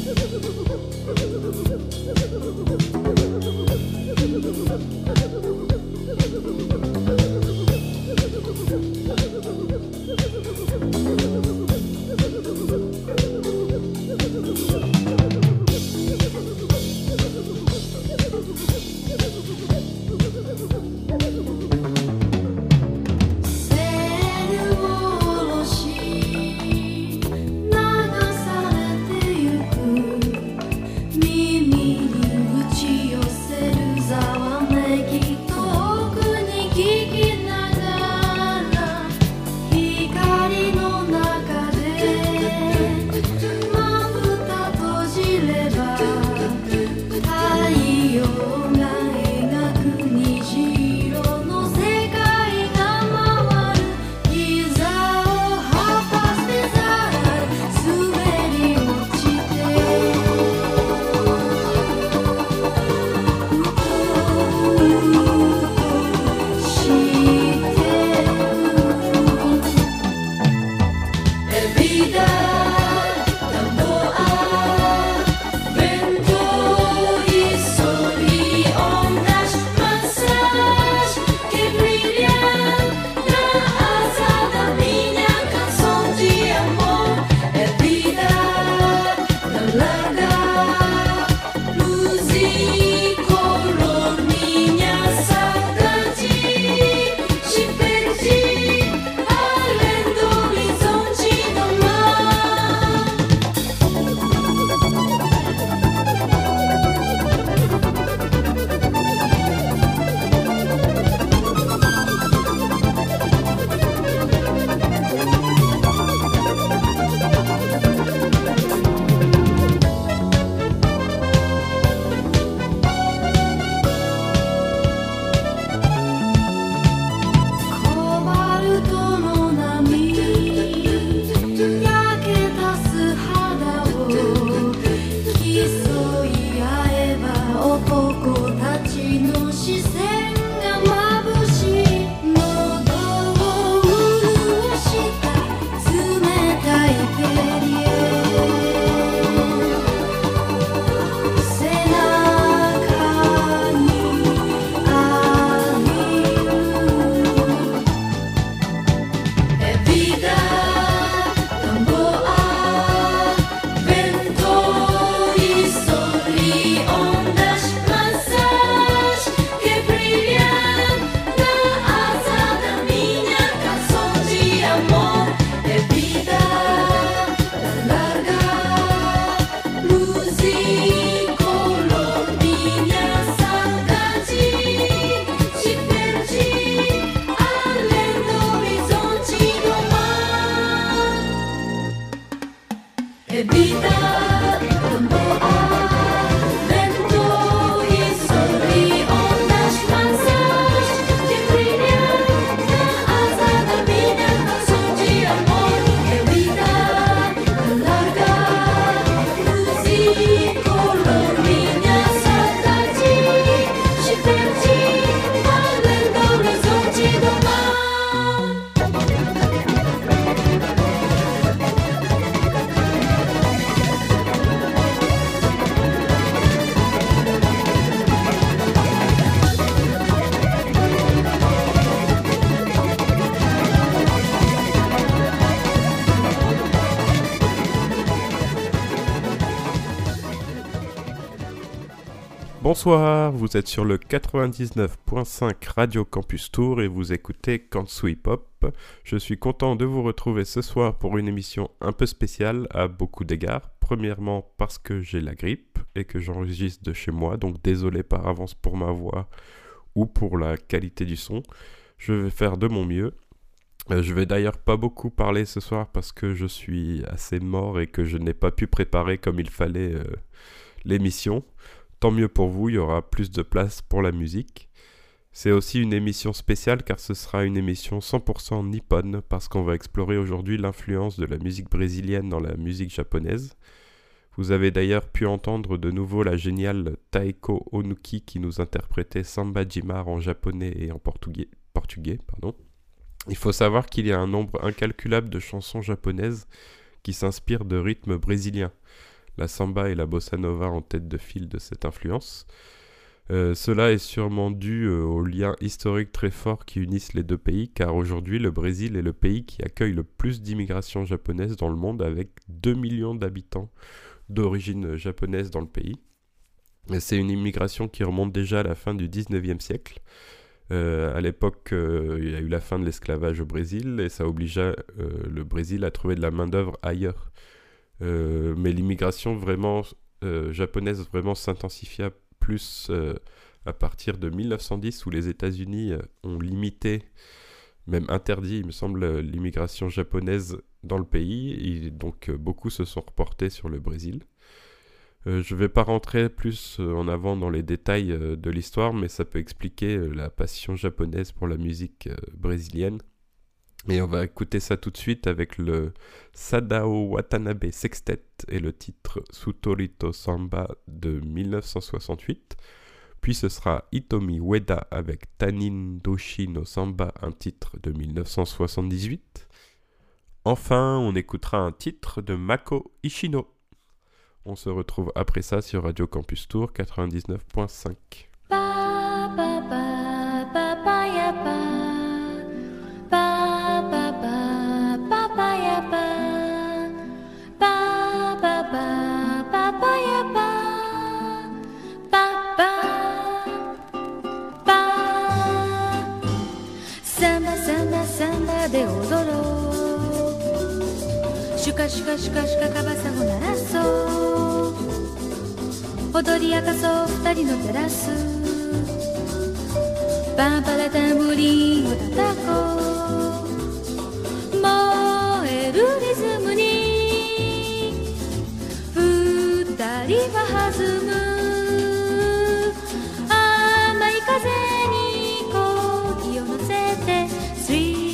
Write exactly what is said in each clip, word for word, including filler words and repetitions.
Bonsoir, vous êtes sur le quatre-vingt-dix-neuf point cinq Radio Campus Tour et vous écoutez Kantsu Hip Hop. Je suis content de vous retrouver ce soir pour une émission un peu spéciale à beaucoup d'égards. Premièrement parce que j'ai la grippe et que j'enregistre de chez moi, donc désolé par avance pour ma voix ou pour la qualité du son. Je vais faire de mon mieux. Euh, je vais d'ailleurs pas beaucoup parler ce soir parce que je suis assez mort et que je n'ai pas pu préparer comme il fallait euh, l'émission. Tant mieux pour vous, il y aura plus de place pour la musique. C'est aussi une émission spéciale car ce sera une émission cent pour cent nippone parce qu'on va explorer aujourd'hui l'influence de la musique brésilienne dans la musique japonaise. Vous avez d'ailleurs pu entendre de nouveau la géniale Taeko Onuki qui nous interprétait Samba Jimar en japonais et en portugais. portugais pardon. Il faut savoir qu'il y a un nombre incalculable de chansons japonaises qui s'inspirent de rythmes brésiliens. la samba et la bossa nova en tête de file de cette influence. Euh, cela est sûrement dû euh, aux liens historiques très forts qui unissent les deux pays, car aujourd'hui le Brésil est le pays qui accueille le plus d'immigration japonaise dans le monde, avec deux millions d'habitants d'origine japonaise dans le pays. Et c'est une immigration qui remonte déjà à la fin du dix-neuvième siècle. Euh, à l'époque, euh, il y a eu la fin de l'esclavage au Brésil et ça obligea euh, le Brésil à trouver de la main-d'œuvre ailleurs. Euh, mais l'immigration vraiment euh, japonaise vraiment s'intensifia plus euh, à partir de mille neuf cent dix, où les États-Unis euh, ont limité, même interdit, il me semble, l'immigration japonaise dans le pays, et donc euh, beaucoup se sont reportés sur le Brésil. Euh, je ne vais pas rentrer plus euh, en avant dans les détails euh, de l'histoire, mais ça peut expliquer euh, la passion japonaise pour la musique euh, brésilienne. Et on va écouter ça tout de suite avec le Sadao Watanabe Sextet et le titre Sutorito Samba de mille neuf cent soixante-huit. Puis ce sera Hitomi Ueda avec Tanin Doshi no Samba, un titre de mille neuf cent soixante-dix-huit. Enfin, on écoutera un titre de Mako Ishino. On se retrouve après ça sur Radio Campus Tour quatre-vingt-dix-neuf point cinq. Ba, ba, ba, ba, ba, ya, ba.で踊ろうシュカシュカシュカシュカカバサゴ鳴らそう踊り明かそう二人のテラスパンパラタンブリンを叩こう燃えるリズムに二人は弾む甘い風に漕ぎを乗せてスリー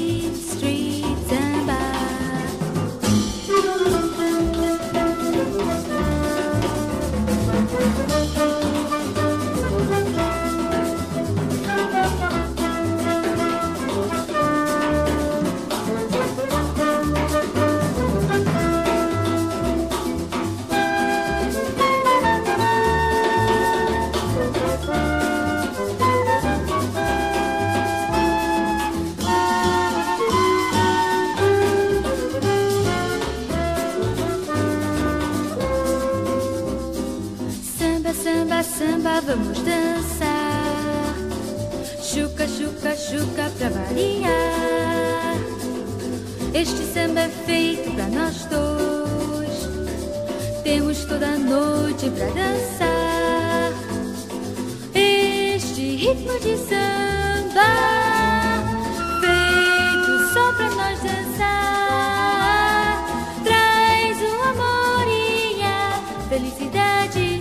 Samba, vamos dançar. Chuca, chuca, chuca pra variar. Este samba é feito pra nós dois. Temos toda a noite pra dançar. Este ritmo de samba feito só pra nós dançar. Traz o amor e a felicidade.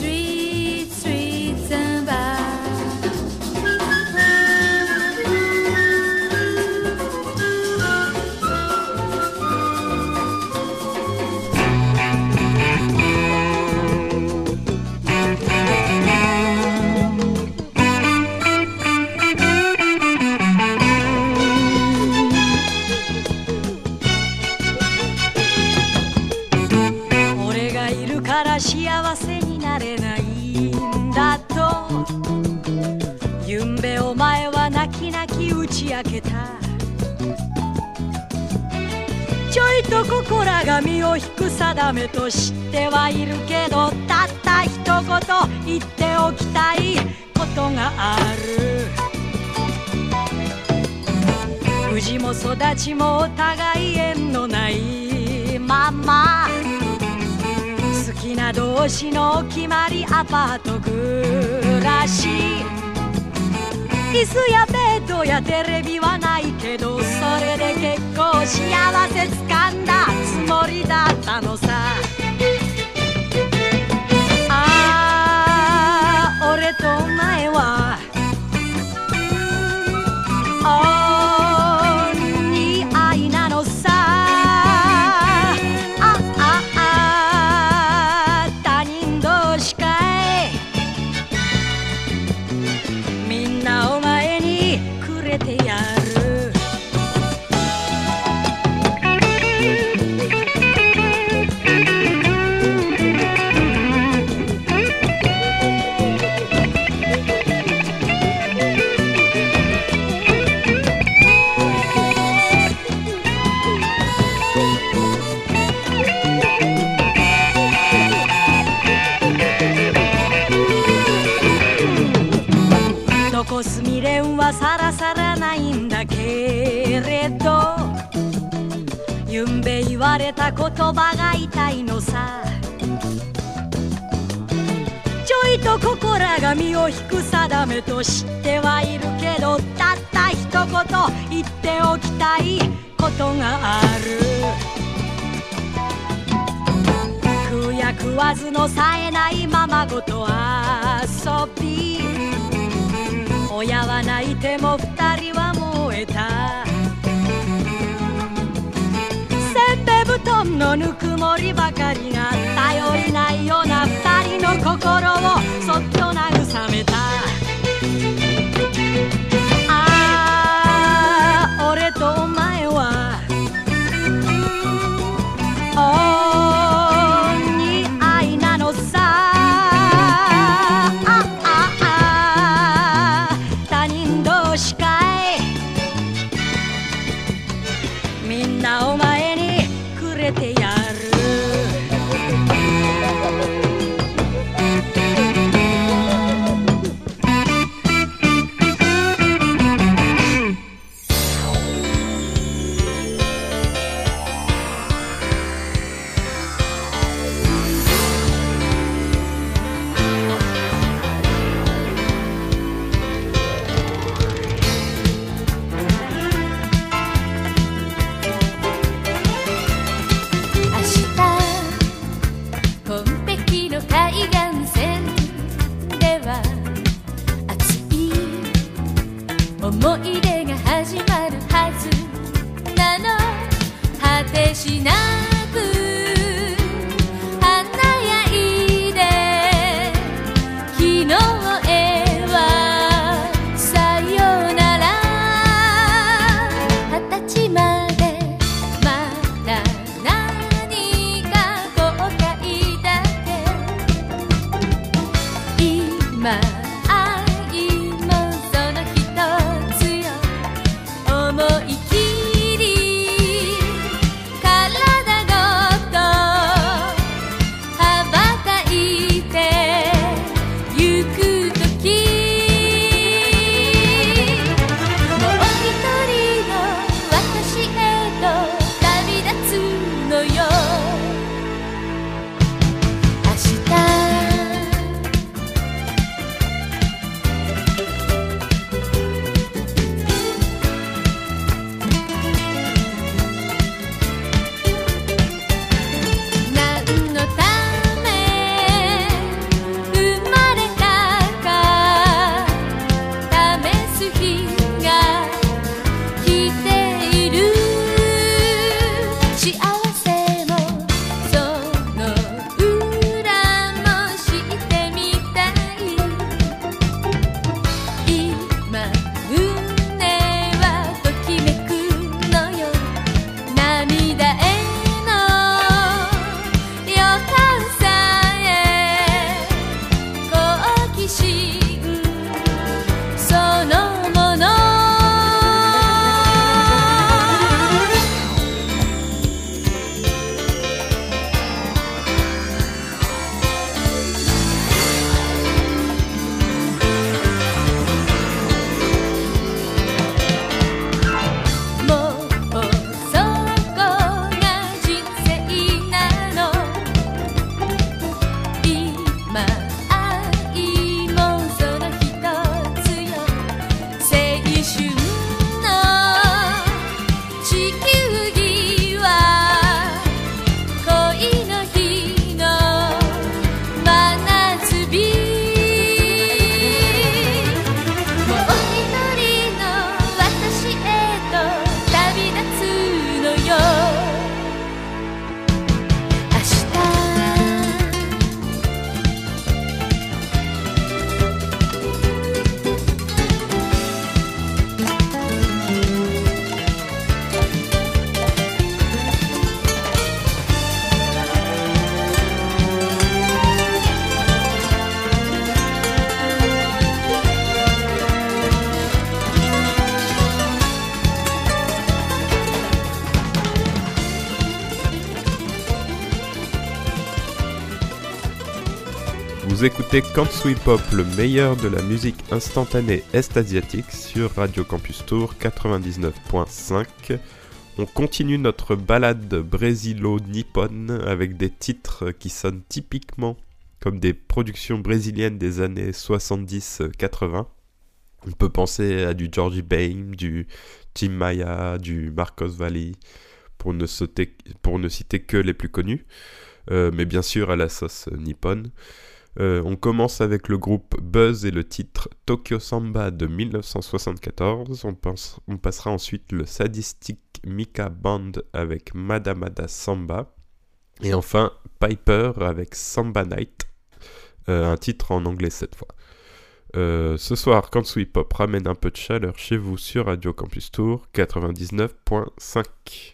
ちょいと心が身を引く定めと知ってはいるけどたった一言言っておきたいことがある氏も育ちもお互い縁のないまま好きな同士の決まりアパート暮らし椅子やベッドやテレビはないけどそれで結構幸せつかんだつもりだったのさああ俺とお前はお似合いなのさあああ他人同士かいみんなお前にくれてやるた言葉が痛いのさ。ちょいとここらが身を引く定めと知ってはいるけど、たった一言言っておきたいことがある。食うや食わずのさえないままごと遊び、親は泣いても二人は燃えた。せんべ布団のぬくもりばかりが頼りないような二人の心をそっと慰めた。ああ、俺とお前はお似合いなのさ。あああ、他人同士かい。みんなお前にくれてやる。 思い出が始まるはずなの。果てしなく華やいで、昨日へはさよなら。二十歳までまだ何か後悔だって。今思い切り体ごと羽ばたいてゆくとき、もう一人の私へと旅立つのよ。明日 Vous écoutez Can't Sweep Pop, le meilleur de la musique instantanée est-asiatique sur Radio Campus Tour quatre-vingt-dix-neuf point cinq. On continue notre balade brésilo-nippone avec des titres qui sonnent typiquement comme des productions brésiliennes des années soixante-dix quatre-vingts. On peut penser à du Georgie Bain, du Tim Maia, du Marcos Valle, pour ne, sauter, pour ne citer que les plus connus, euh, mais bien sûr à la sauce nippone. Euh, on commence avec le groupe Buzz et le titre Tokyo Samba de dix-neuf cent soixante-quatorze. On, pense, on passera ensuite le Sadistic Mika Band avec Madamada Samba. Et enfin Piper avec Samba Night, euh, un titre en anglais cette fois. Euh, ce soir, Kansui Pop ramène un peu de chaleur chez vous sur Radio Campus Tour quatre-vingt-dix-neuf point cinq.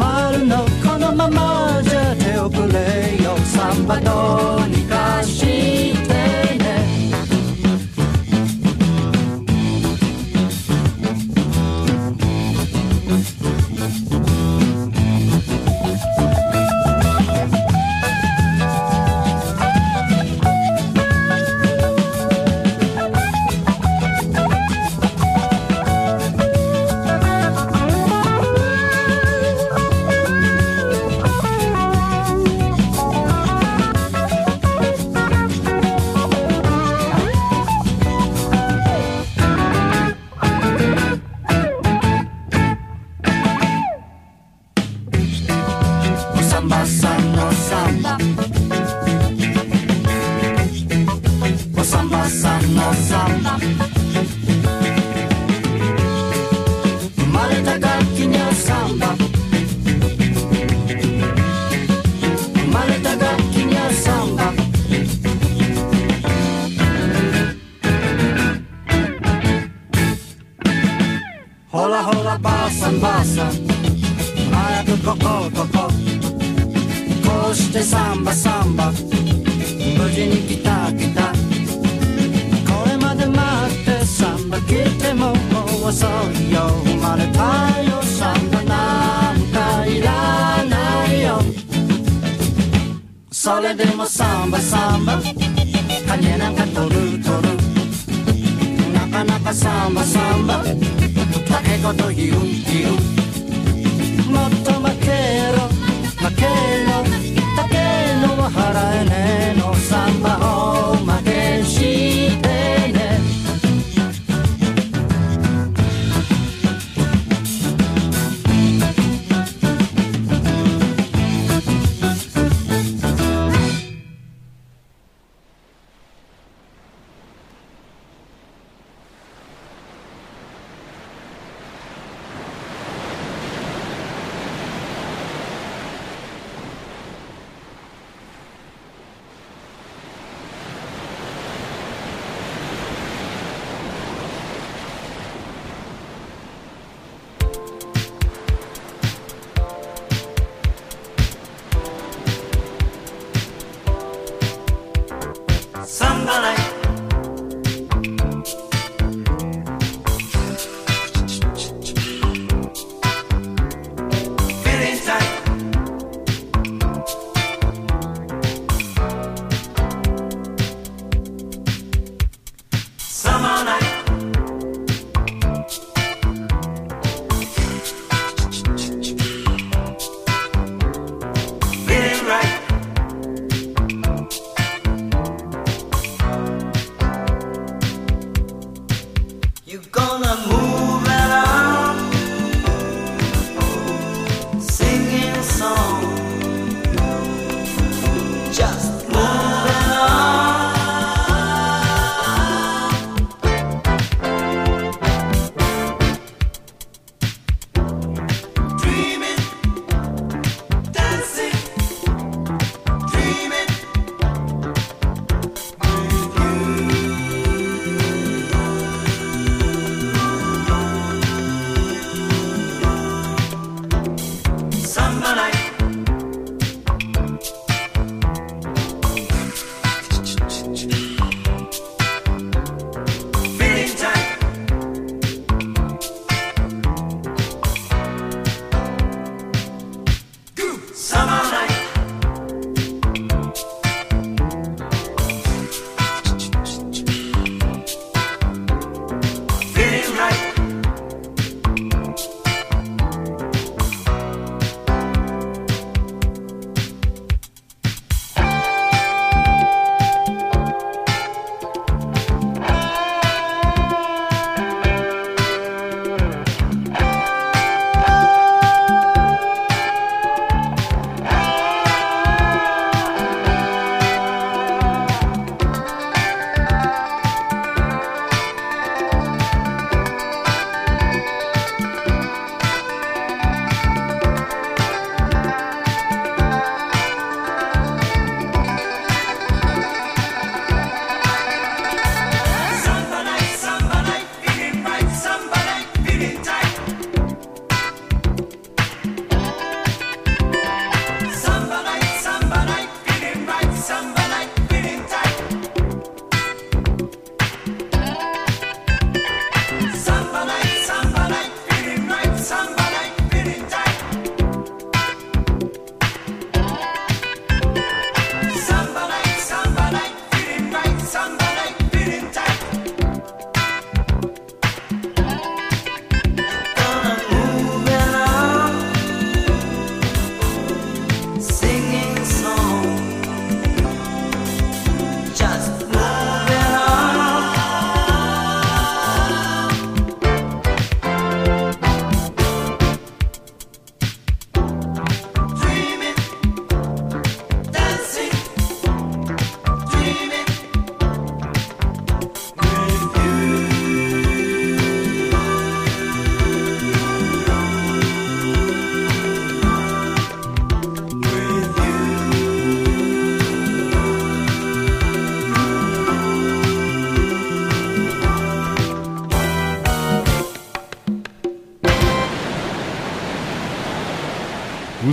まるのこのままじゃ手遅れよサンバどうにかしてねほらほらばあさんばあさん早くこここここうしてサンバサンバ無事に来た来たこれまで待ってサンバ来てももう遅いよ生まれたよサンバなんかいらないよそれでもサンバサンバ金なんか取る取るなかなかサンバサンバだけこと言う言うもっと負けろ負けろだけのは払えねえのサンバを負けしてね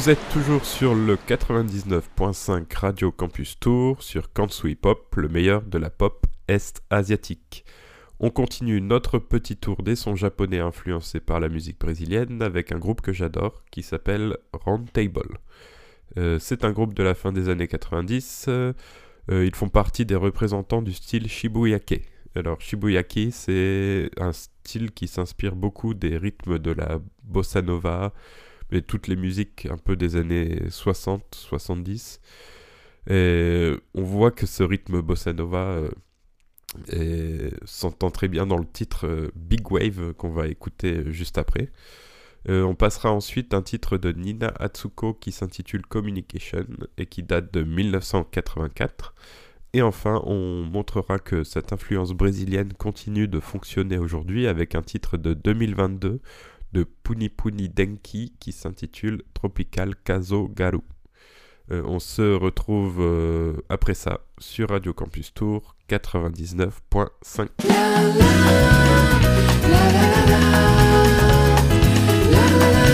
Vous êtes toujours sur le quatre-vingt-dix-neuf virgule cinq Radio Campus Tour, sur Kansui Pop, le meilleur de la pop est-asiatique. On continue notre petit tour des sons japonais influencés par la musique brésilienne avec un groupe que j'adore qui s'appelle Round Table. Euh, c'est un groupe de la fin des années quatre-vingt-dix. Euh, ils font partie des représentants du style Shibuyake. Alors Shibuyake, c'est un style qui s'inspire beaucoup des rythmes de la bossa nova, et toutes les musiques un peu des années soixante soixante-dix. Et on voit que ce rythme bossa nova euh, est, s'entend très bien dans le titre euh, Big Wave qu'on va écouter juste après. Euh, on passera ensuite un titre de Nina Atsuko qui s'intitule Communication et qui date de dix-neuf cent quatre-vingt-quatre. Et enfin, on montrera que cette influence brésilienne continue de fonctionner aujourd'hui avec un titre de deux mille vingt-deux de Puni Puni Denki qui s'intitule Tropical Kazo Garu. Euh, on se retrouve euh, après ça sur Radio Campus Tour quatre-vingt-dix-neuf virgule cinq. La, la, la, la, la, la, la, la.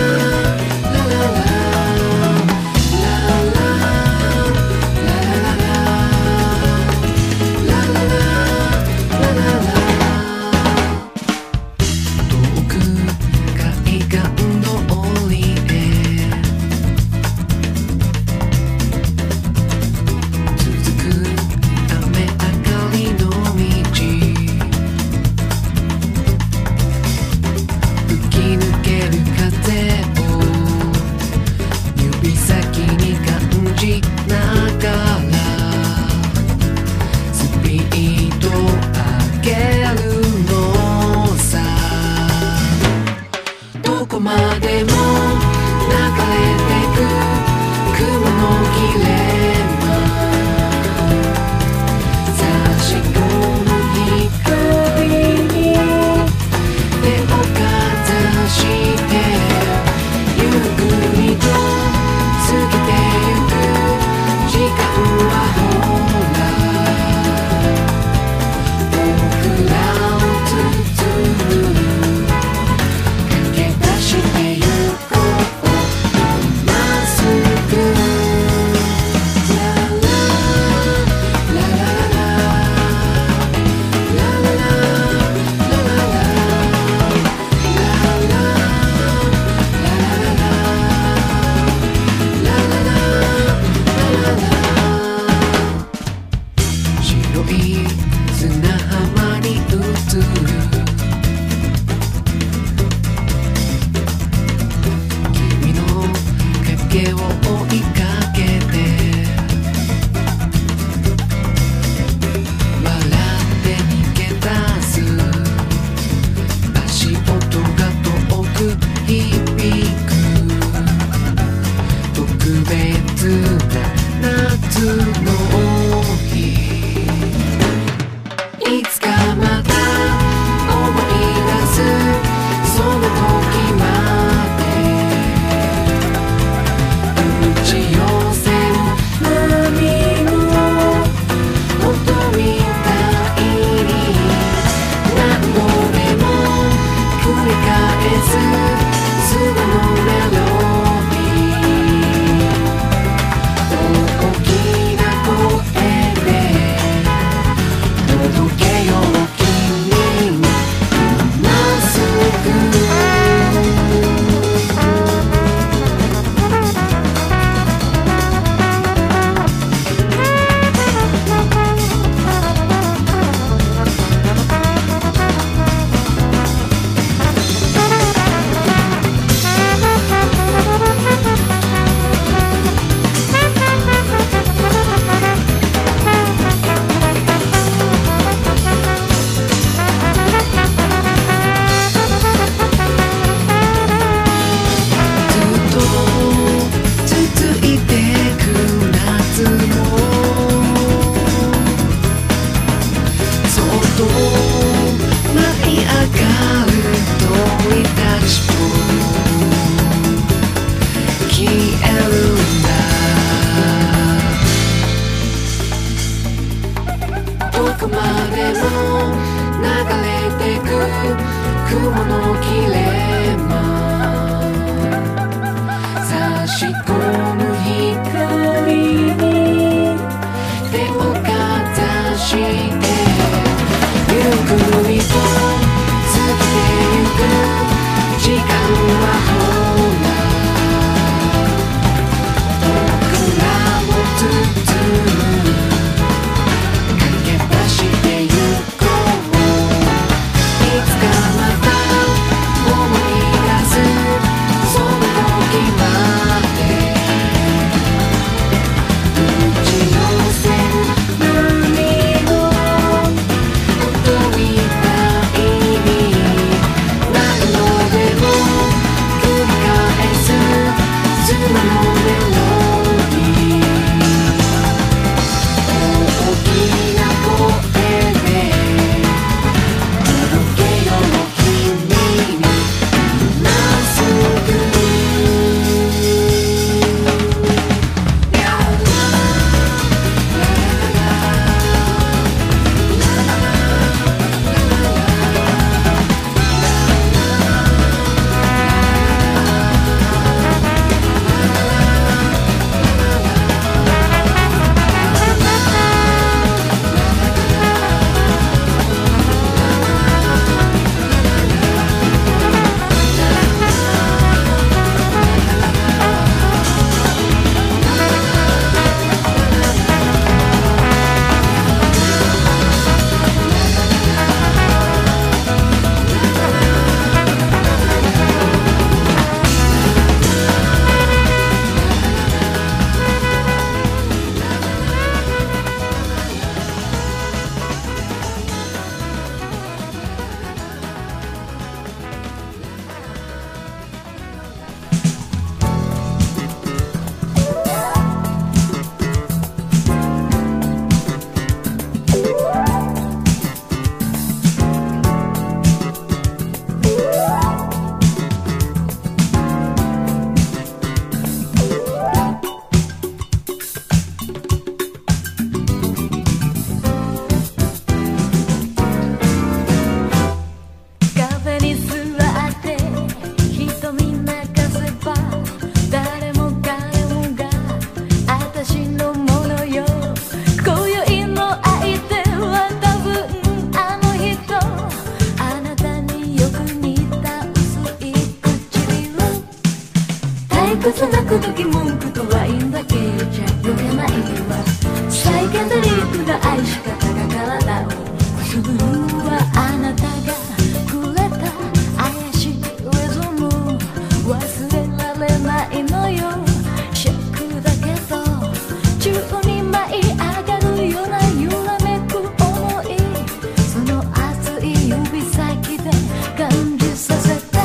ケトリックな愛し方が体をくすぐるはあなたがくれた怪しいリズム忘れられないのよショックだけど宙に舞い上がるような揺らめく想いその熱い指先で感じさせて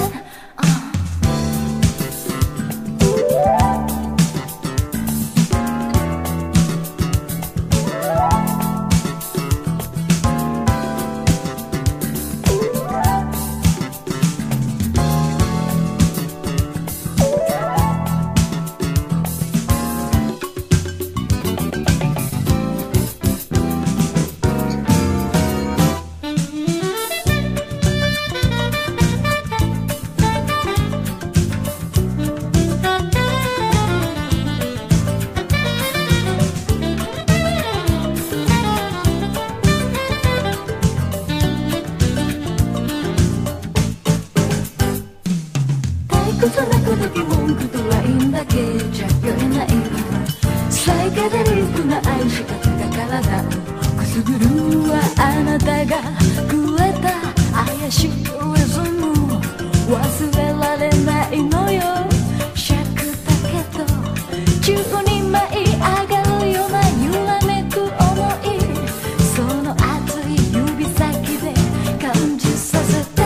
くさなくだけ文句とラインだけじゃ酔えないサイケデリックな愛し方が体をくすぐるはあなたがくれた怪しいリズム忘れられないのよシャクだけど宙に舞い上がるような揺らめく想いその熱い指先で感じさせて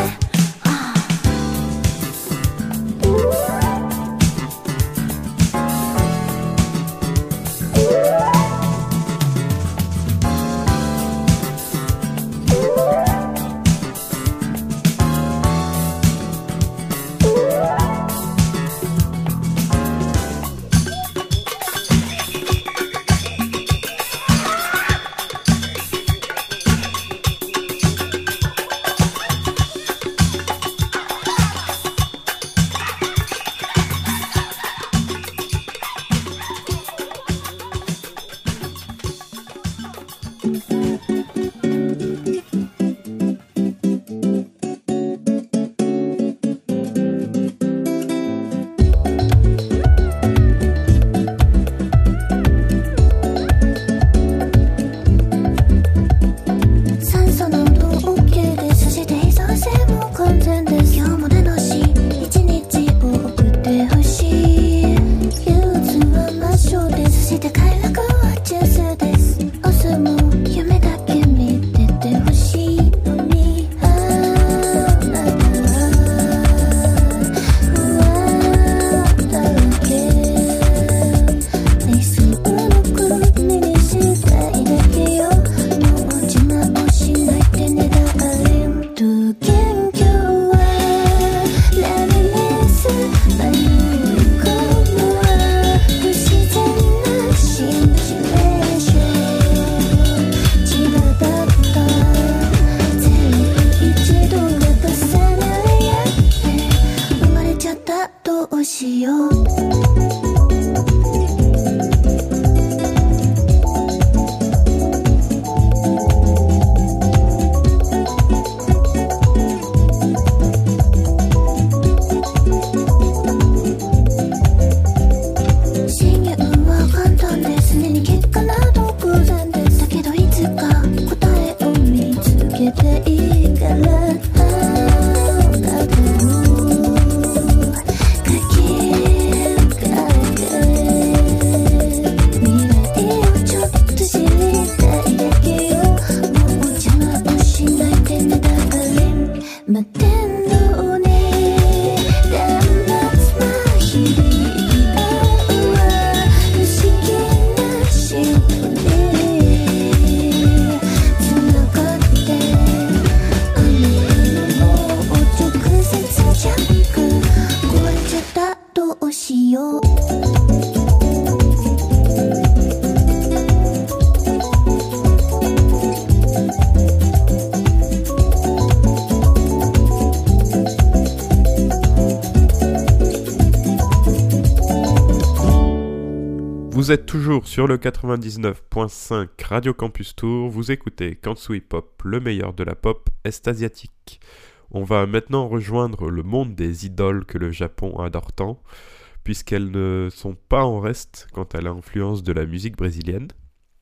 Vous êtes toujours sur le quatre-vingt-dix-neuf virgule cinq Radio Campus Tour, vous écoutez Kantsui Pop, le meilleur de la pop est-asiatique. On va maintenant rejoindre le monde des idoles que le Japon adore tant, puisqu'elles ne sont pas en reste quant à l'influence de la musique brésilienne.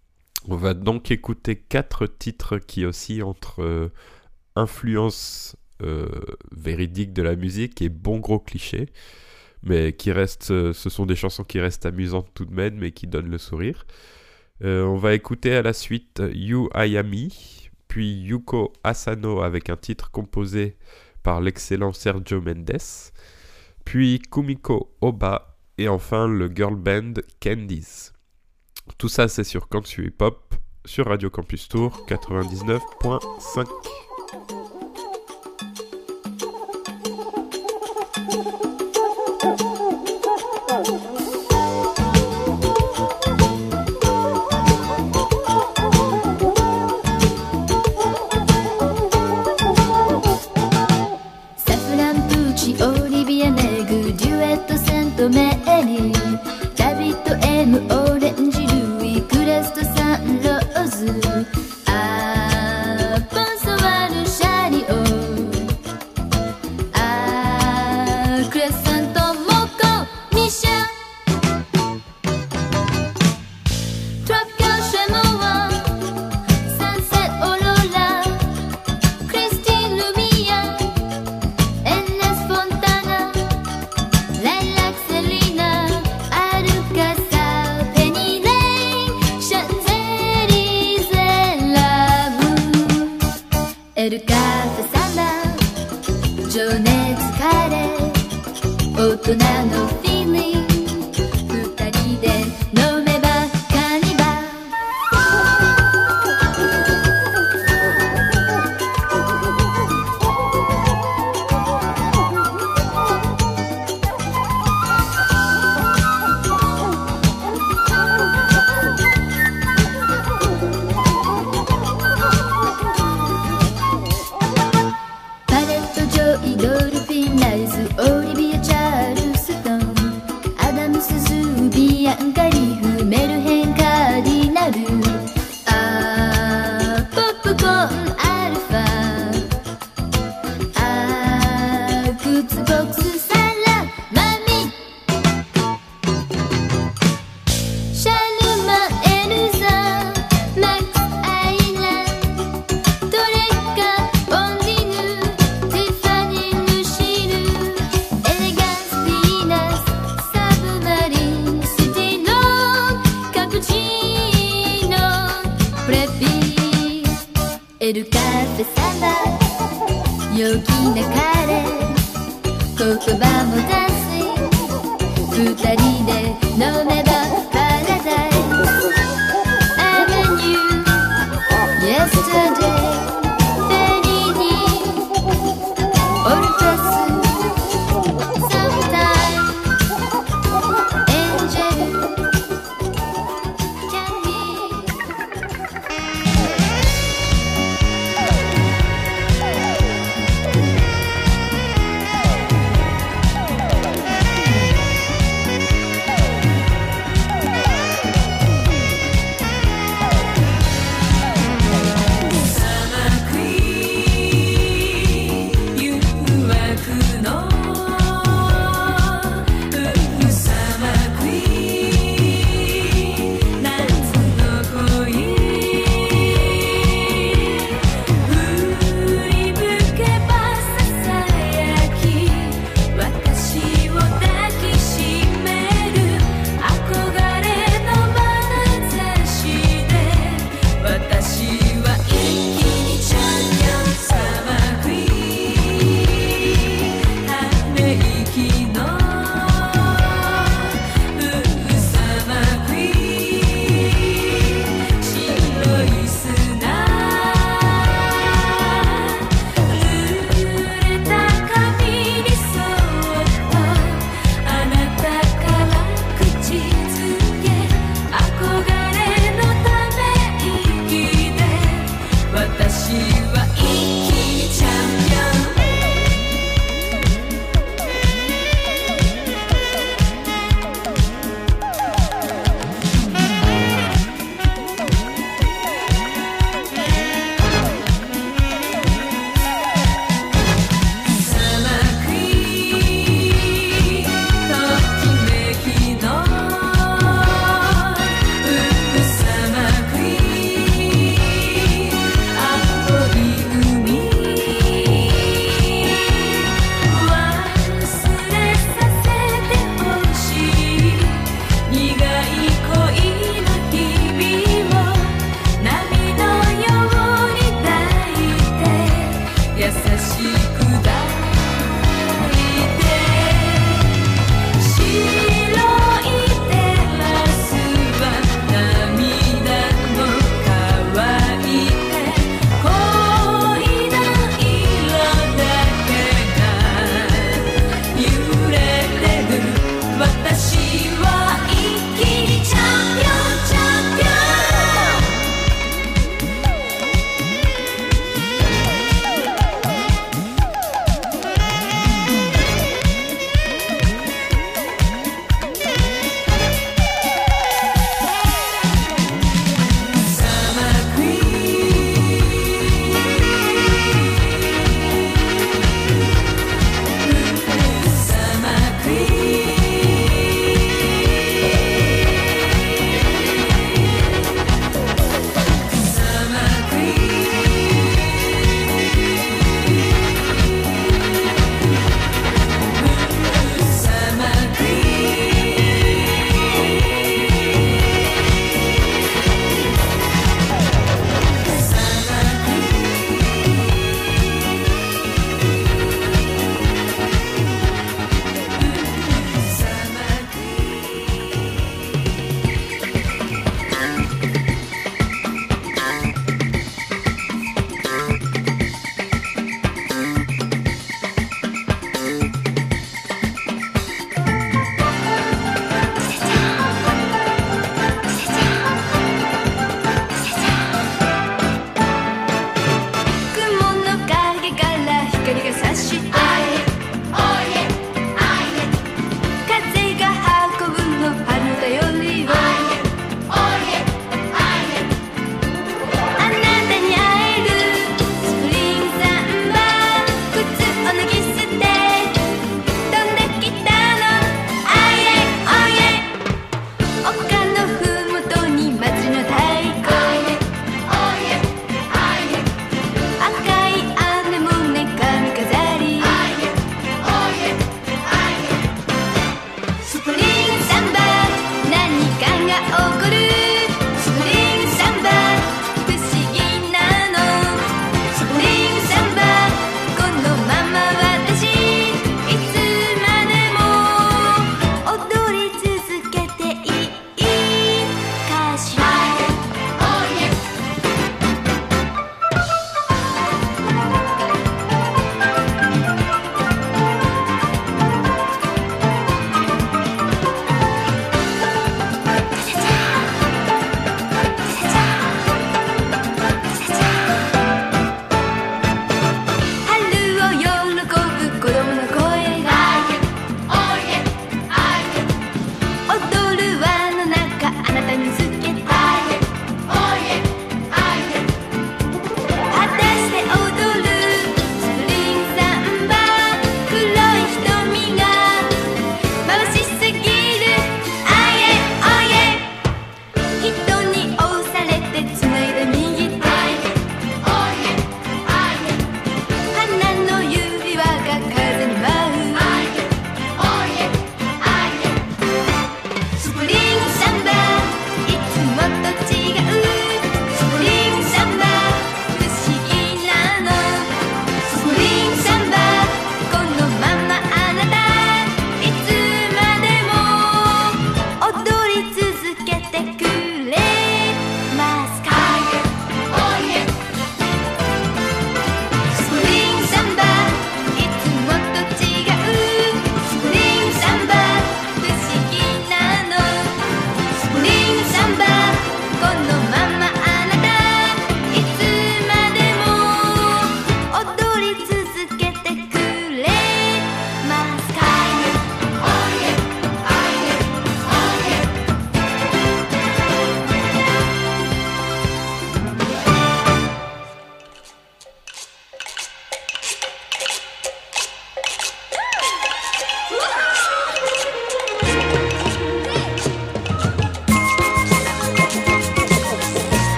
On va donc écouter quatre titres qui oscillent entre euh, influence euh, véridique de la musique et bon gros clichés, mais qui restent, euh, ce sont des chansons qui restent amusantes tout de même, mais qui donnent le sourire. Euh, on va écouter à la suite You Ayami, puis Yuko Asano avec un titre composé par l'excellent Sergio Mendes, puis Kumiko Oba, et enfin le girl band Candies. Tout ça c'est sur Kantsu Hip Hop, sur Radio Campus Tour quatre-vingt-dix-neuf point cinq.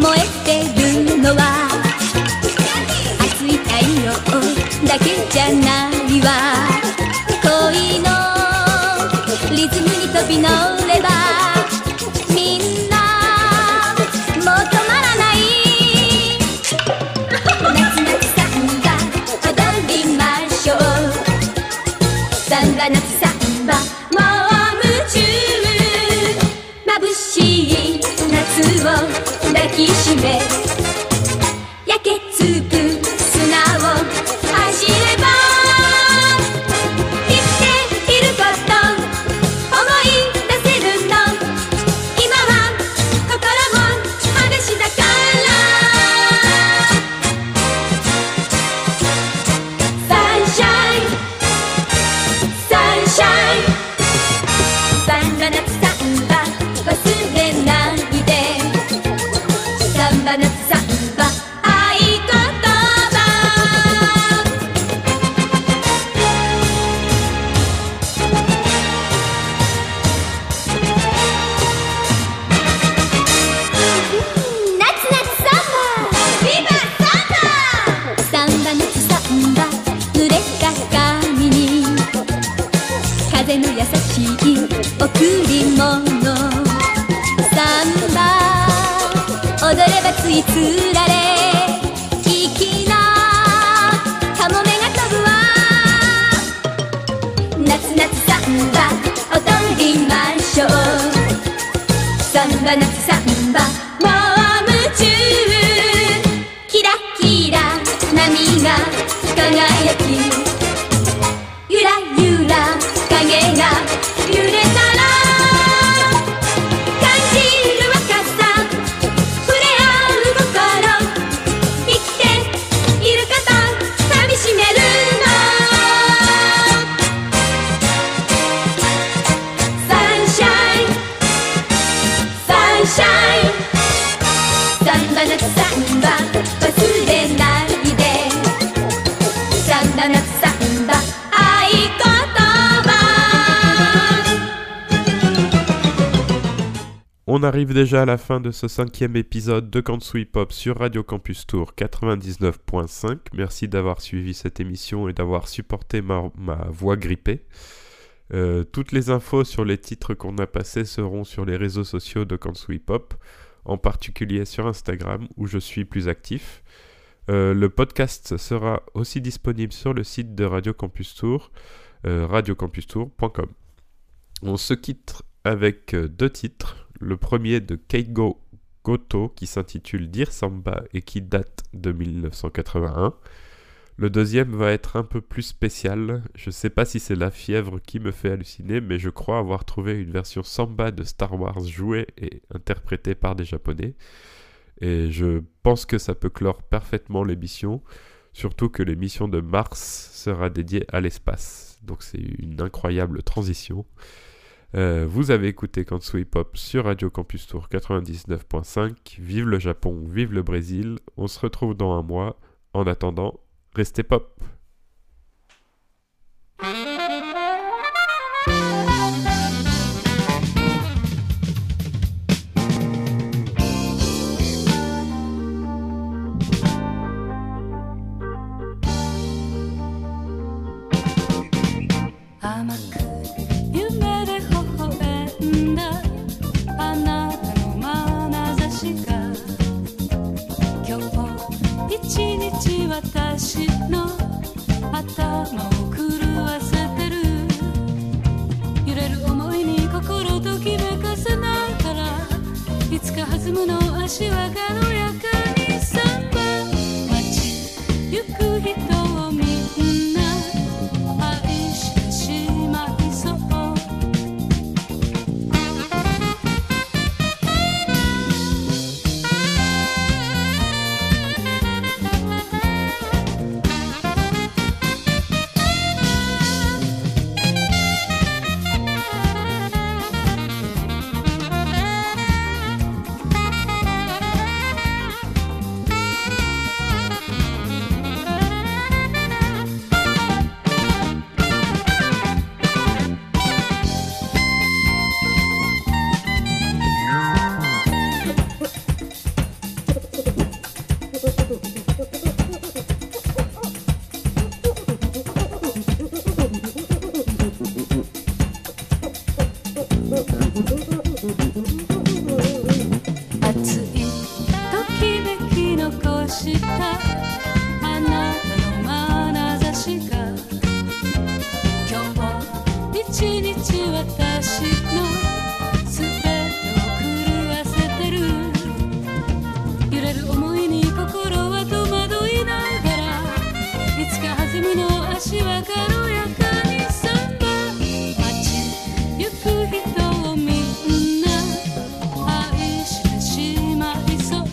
燃えてるのは熱い太陽だけじゃないわ。恋のリズムに飛び乗ればみんなもう止まらない。夏夏サンバ踊りましょう。サンバ夏サンバもう夢中。眩しい夏を抱きしめ焼けつく砂を走れば生きていること思い出せるの。今は心も裸足だからサンシャインサンシャインサンバ夏サンバ忘れないで。サンバ夏サンバ合言葉。夏夏サンバビバサンバ。サンバ夏サンバ濡れた髪に風の優しい贈り物。サンバ踊ればついつられ粋なカモメが飛ぶわ。夏夏サンバ踊りましょう。サンバ夏サンバもう夢中。キラキラ波が輝きゆらゆら影が揺れたら感じる若さ触れ合う心生きていること噛みしめるの。サンシャインサンシャインサンバ夏サンバ忘れないで。サンバ夏サンバ合言葉。 On arrive déjà à la fin de ce cinquième épisode de Kansu Hip Hop sur Radio Campus Tour quatre-vingt-dix-neuf point cinq. Merci d'avoir suivi cette émission et d'avoir supporté ma, ma voix grippée. Euh, toutes les infos sur les titres qu'on a passés seront sur les réseaux sociaux de Kansu Hip Hop, en particulier sur Instagram où je suis plus actif. Euh, le podcast sera aussi disponible sur le site de Radio Campus Tour, euh, radio campus tour point com. On se quitte avec euh, deux titres. Le premier de Keigo Goto qui s'intitule Dear Samba et qui date de dix-neuf cent quatre-vingt-un. Le deuxième va être un peu plus spécial. Je sais pas si c'est la fièvre qui me fait halluciner, mais je crois avoir trouvé une version samba de Star Wars jouée et interprétée par des Japonais. Et je pense que ça peut clore parfaitement l'émission, surtout que l'émission de mars sera dédiée à l'espace. Donc c'est une incroyable transition. Euh, vous avez écouté Kansu Hip Hop sur Radio Campus Tour quatre-vingt-dix-neuf point cinq. Vive le Japon, vive le Brésil. On se retrouve dans un mois. En attendant, restez pop. 熱いときめき残したあなたの眼差しが今日一日私のすべてを狂わせてる揺れる思いに心は戸惑いながらいつか弾むの足は軽やかにサンバ街行く人をみんな愛してしまいそう